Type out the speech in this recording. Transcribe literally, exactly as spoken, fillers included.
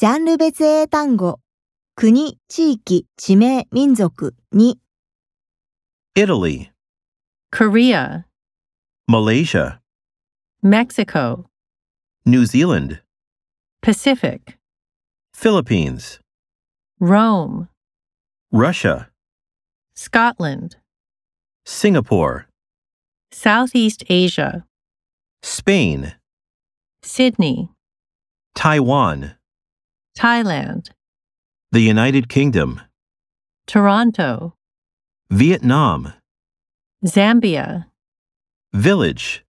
ジャンル別英単語、国、地域、地名、民族に。 Italy, Korea, Malaysia, Mexico, New Zealand, Pacific, Philippines, Rome, Russia, Scotland, Singapore, Southeast Asia, Spain, Sydney, Taiwan, Thailand, the United Kingdom, Toronto, Vietnam, Zambia, Village,